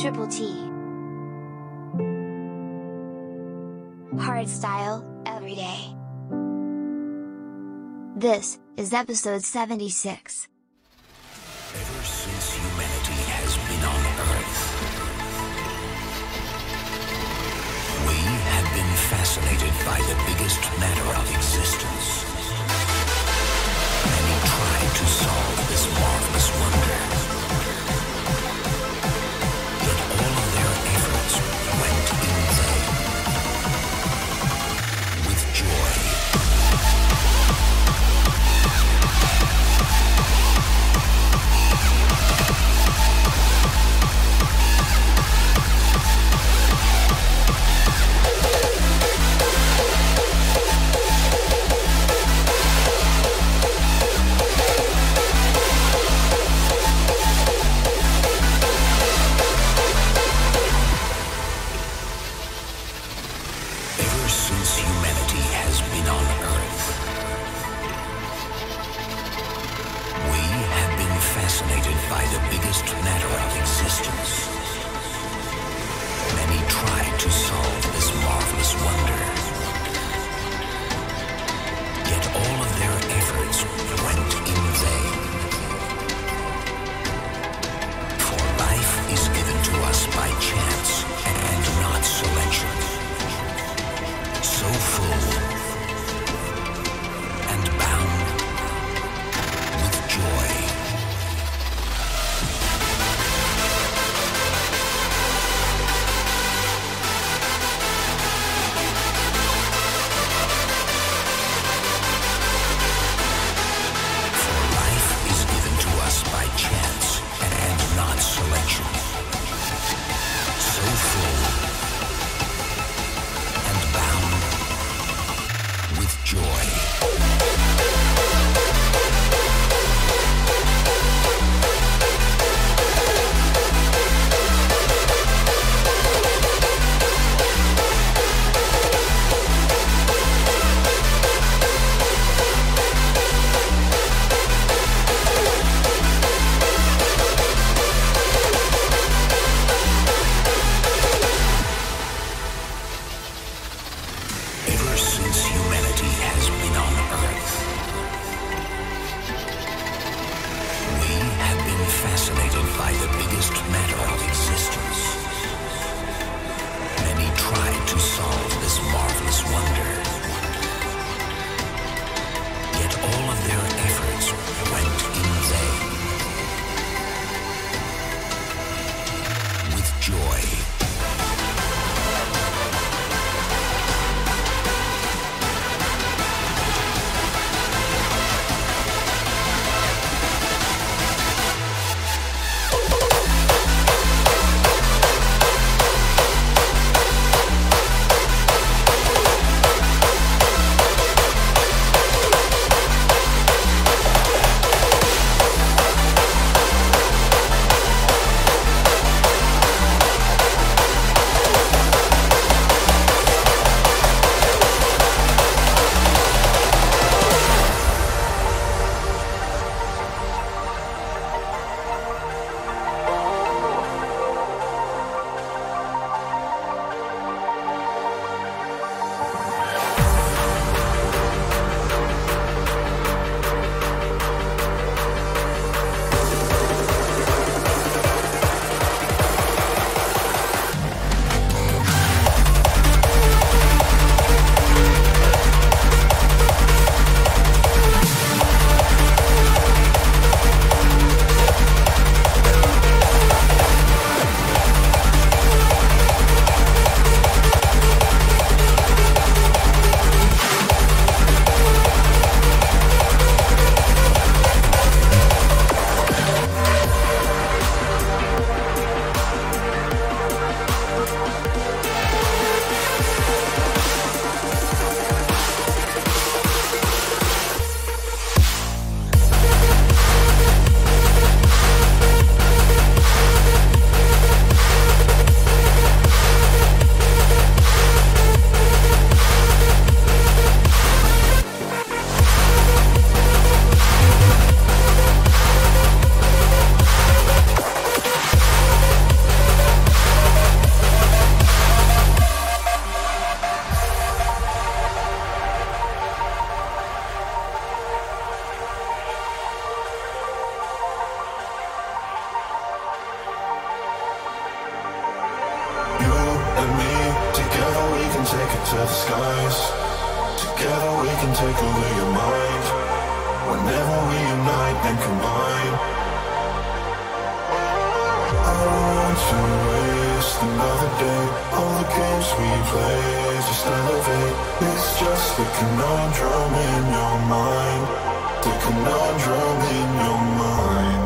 Triple T. Hardstyle, every day. This is episode 76. Ever since humanity has been on Earth, we have been fascinated by the biggest matter of existence. Many tried to solve this marvelous wonder. Yet all of their efforts went in vain. With joy, take it to the skies. Together we can take over your mind. Whenever we unite and combine, I don't want to waste another day. All the games we play just elevate. It's just the conundrum in your mind. The conundrum in your mind.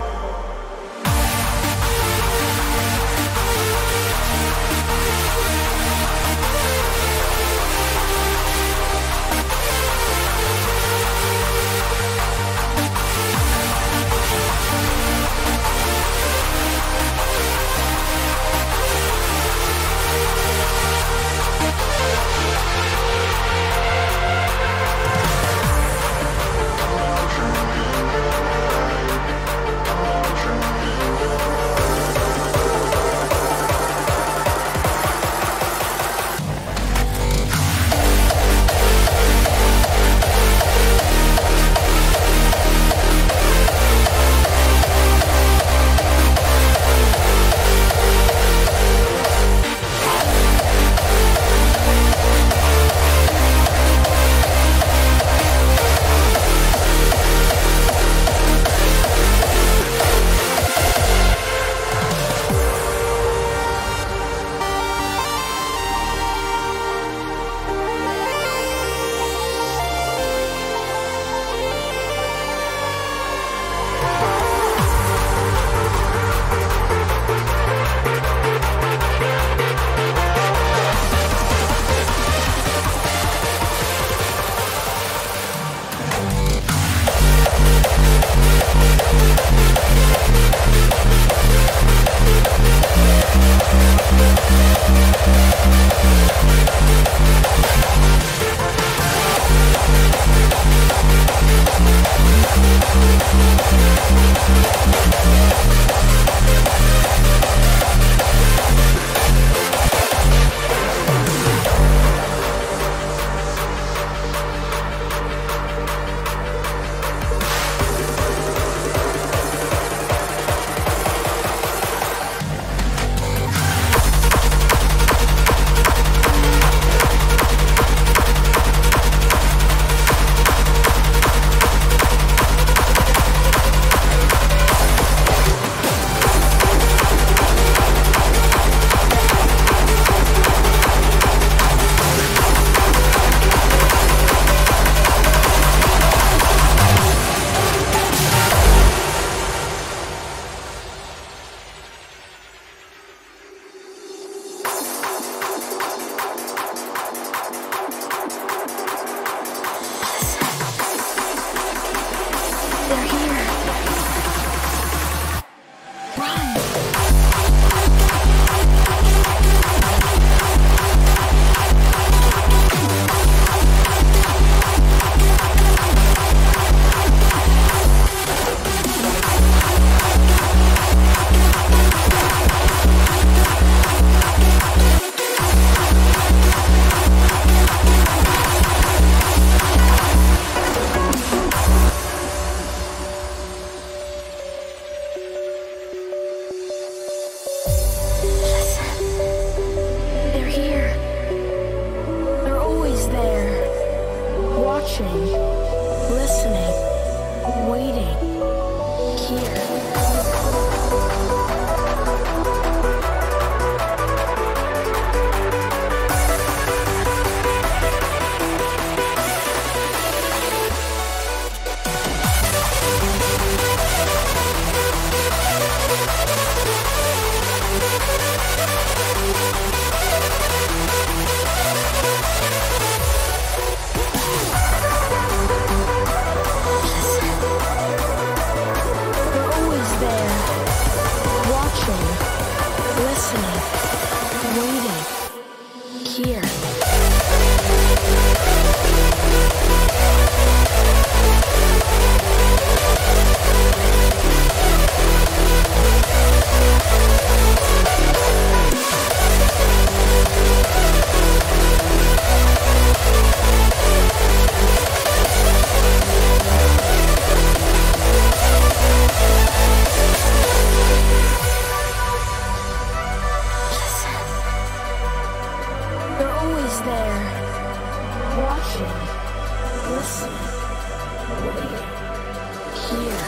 there, watching, listening, waiting, here.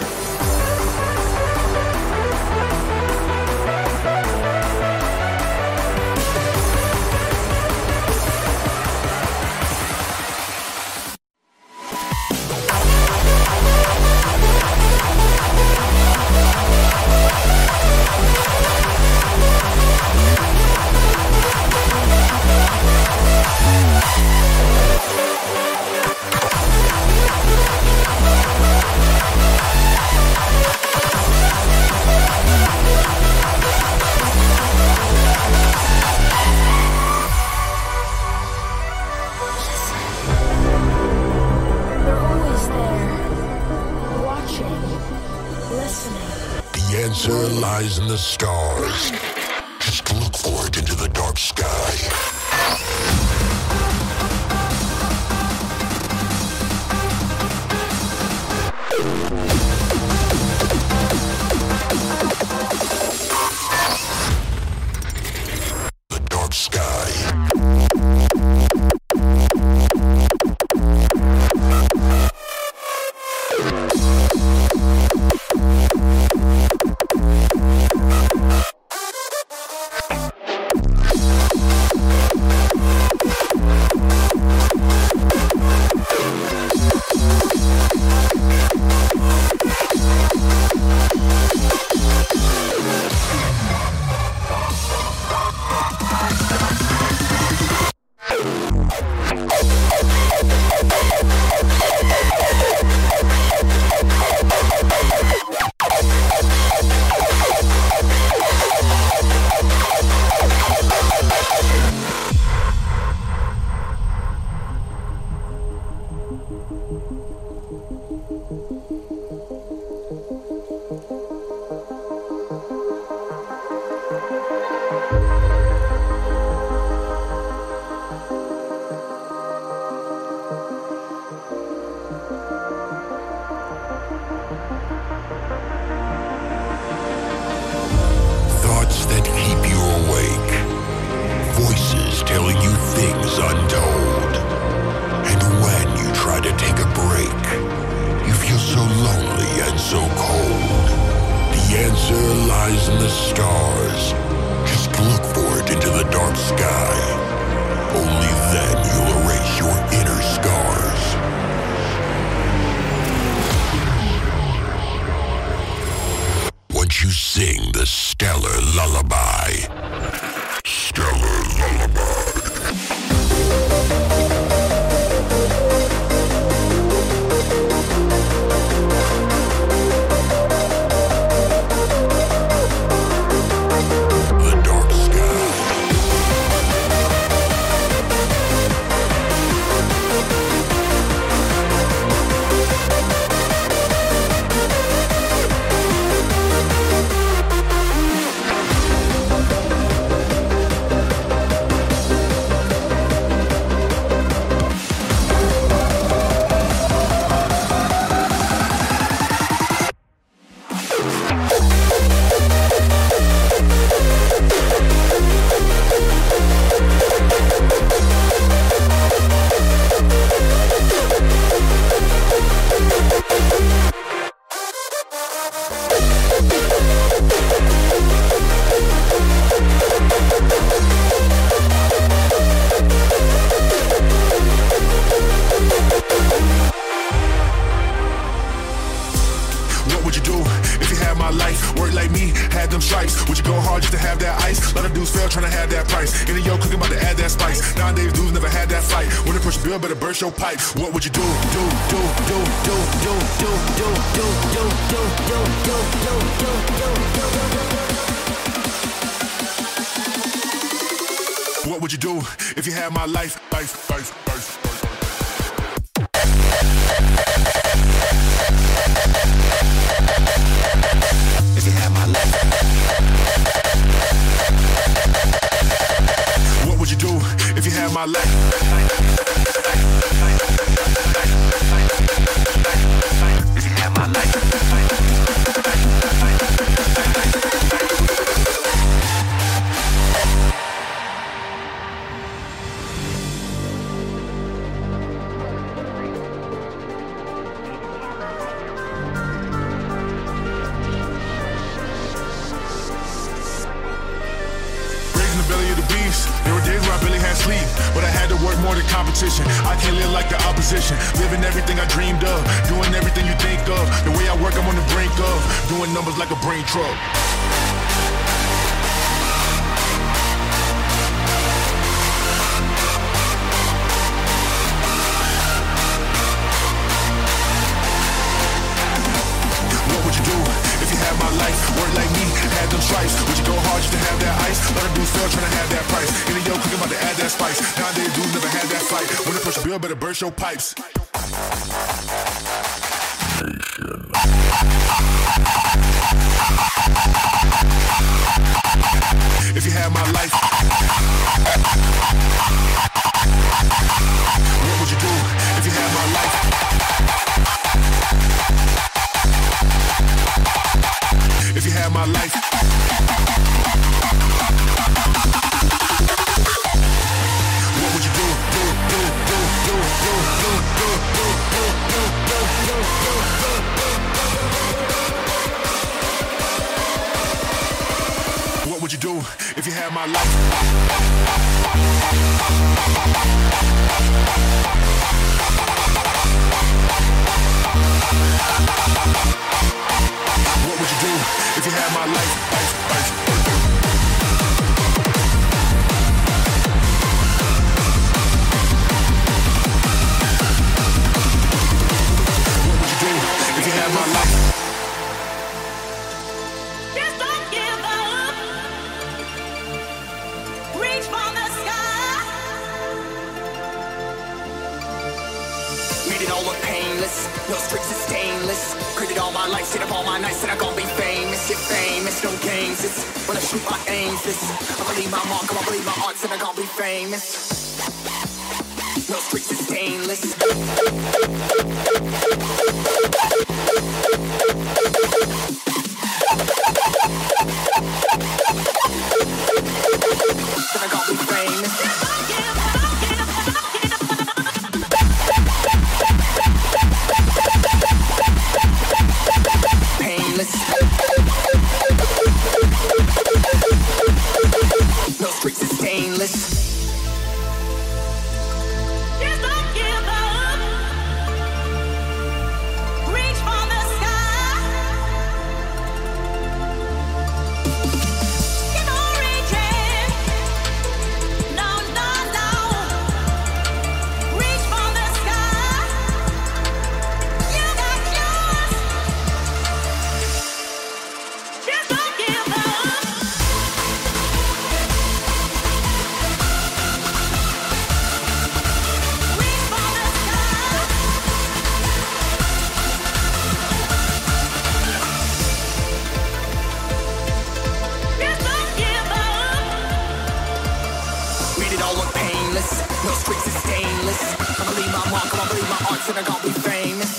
The answer lies in the stars. Just look for it into the dark sky. The dark sky. Thoughts that keep you awake. Voices telling you things untold. And when you try to take a break, you feel so lonely and so cold. The answer lies in the stars. Just look for it into the dark sky. Only then you'll erase your inner scars. Once you sing the stellar lullaby. Stellar lullaby. The dark sky. What would you do if you had my life? Work like me, had them stripes. Would you go hard just to have that ice? A lot of dudes fail trying to have that price. Any yo cooking about to add that spice. Nowadays dudes never had that fight. When they push the bill, better burst your pipe. What would you do? What would you do if you had my life? If you had my life, what would you do if you had my life? If you had my life. days in the belly of the beast. There were days where I barely had sleep, but I had to work more than competition. I can't live like the opposition, living everything I dreamed of, doing everything you think of. The way I work, I'm on the brink of doing numbers like a brain truck. My life, work like me, had them stripes. Would you go hard just to have that ice? Let a dude fail trying to have that price. In the yo, cooking about to add that spice. Nowadays, dudes never had that fight. When the push a bill, better burst your pipes. If you had my life, what would you do if you had my life? If you had my life, what would you do? What would you do if you had my life? What would you do if you had my life? What would you do if you had my life? Just don't give up. Reach for the sky. Made it all look painless. No streaks is stainless. Created all my life, stayed up all my nights, said I'm gonna be famous. You're famous, no games. It's when I shoot my aims. This I believe my mark, I believe my art, said I'm gonna be famous. No streaks is stainless. Said I'm gonna be famous. No streaks is stainless. Just don't give up. Reach for the sky. Keep on reaching. No, no, no. Reach for the sky. You got yours. Just don't give up. Reach for the sky. Just don't give up. Made it all look painless. No streaks is stainless. I believe my mark, I believe my art, said I'm gonna be famous.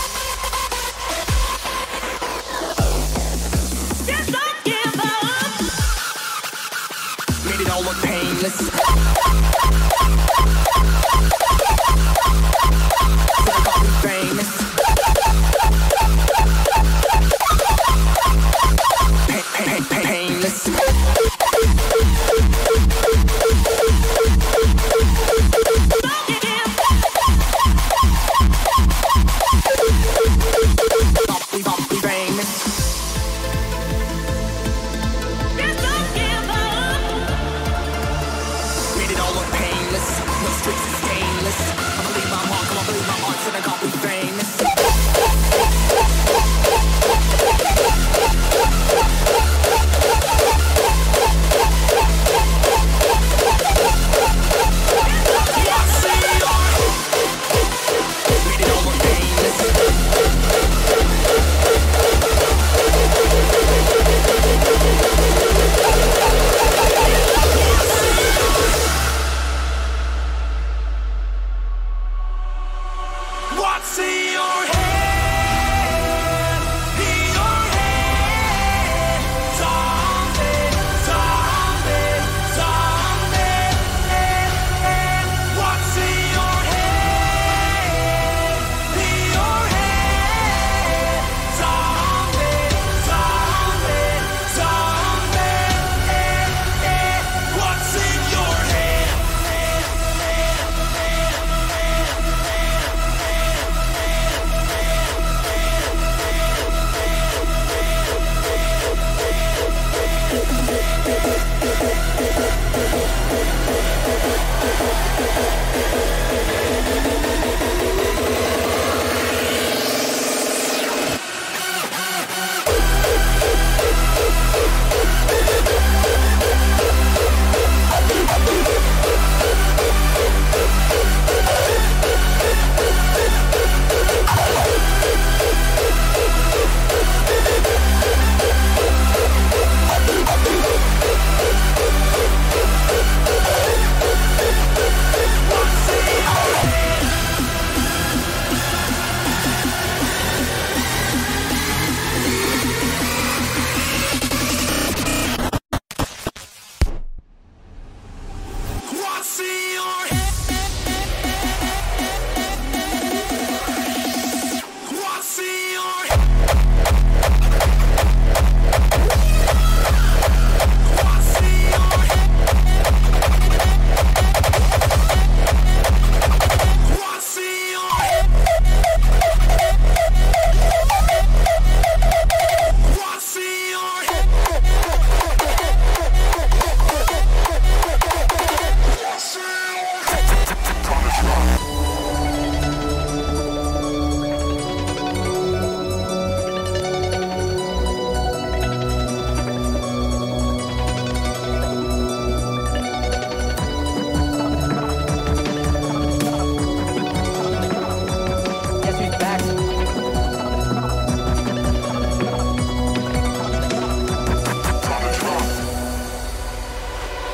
Just don't give up. Made it all look painless. Said I'm gonna be famous. Painless. I'll be famous. Just don't give up. Made it all look painless. No streaks is stainless. I believe my mark, I believe my art, said I'm gonna be famous. Made it all look painless.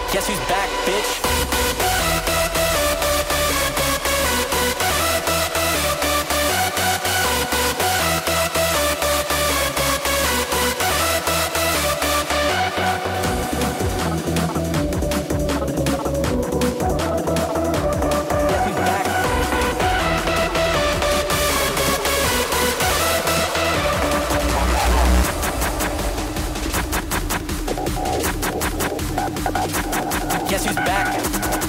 Guess who's back, bitch? Guess who's back?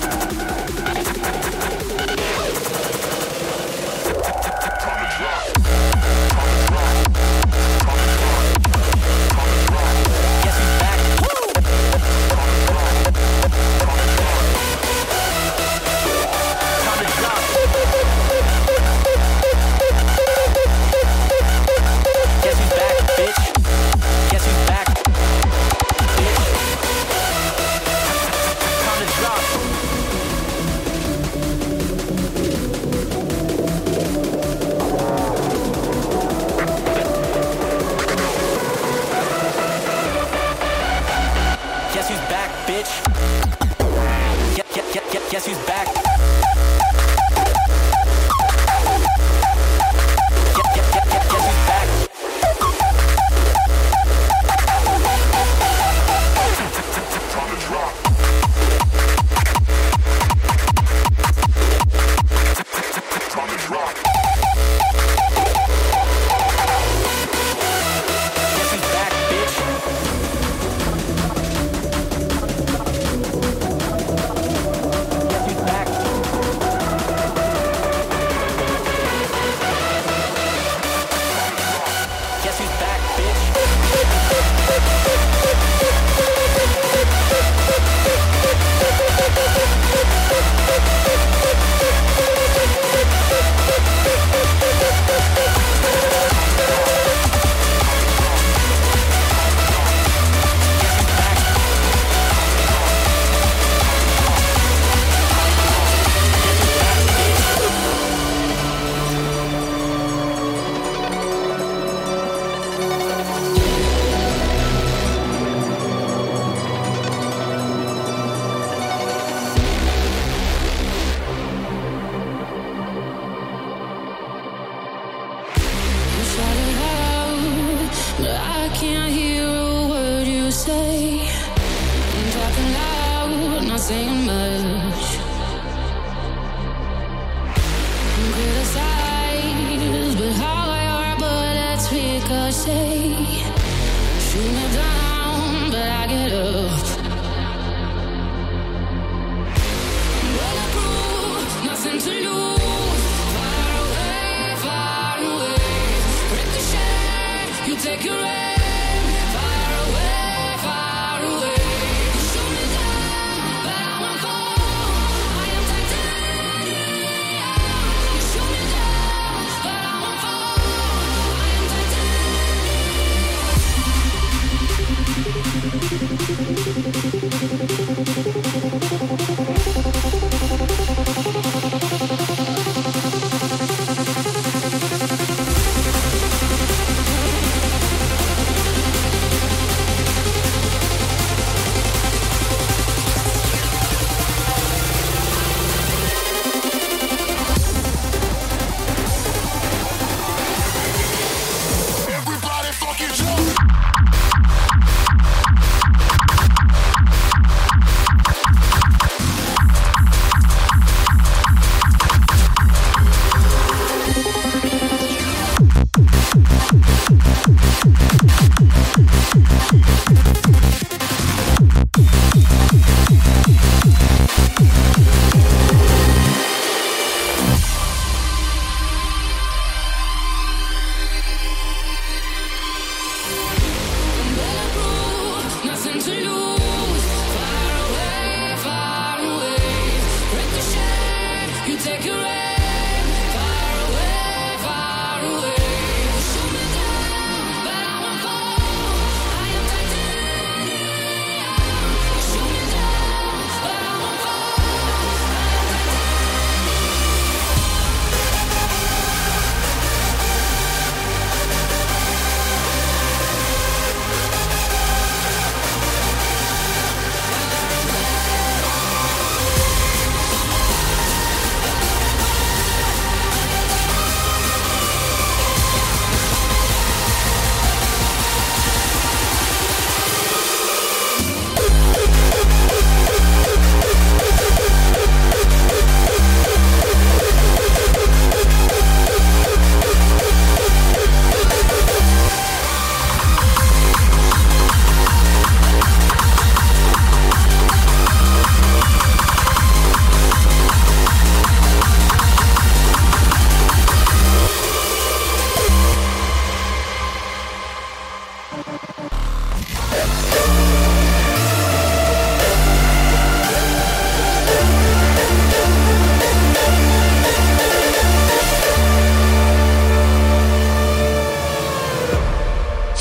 Guess who's back? Saying much. Criticize, but how your bullets ricochet. Shoot me down, but I get up. Bulletproof, nothing to lose. Far away. Ricochet, you take your aim. Far away.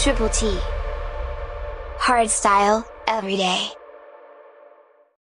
Triple T. Hardstyle, every day.